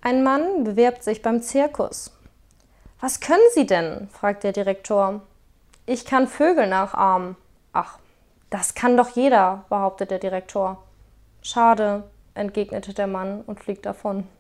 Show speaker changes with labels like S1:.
S1: Ein Mann bewirbt sich beim Zirkus. »Was können Sie denn?« fragt der Direktor. »Ich kann Vögel nachahmen.« »Ach, das kann doch jeder«, behauptet der Direktor. »Schade«, entgegnete der Mann und fliegt davon.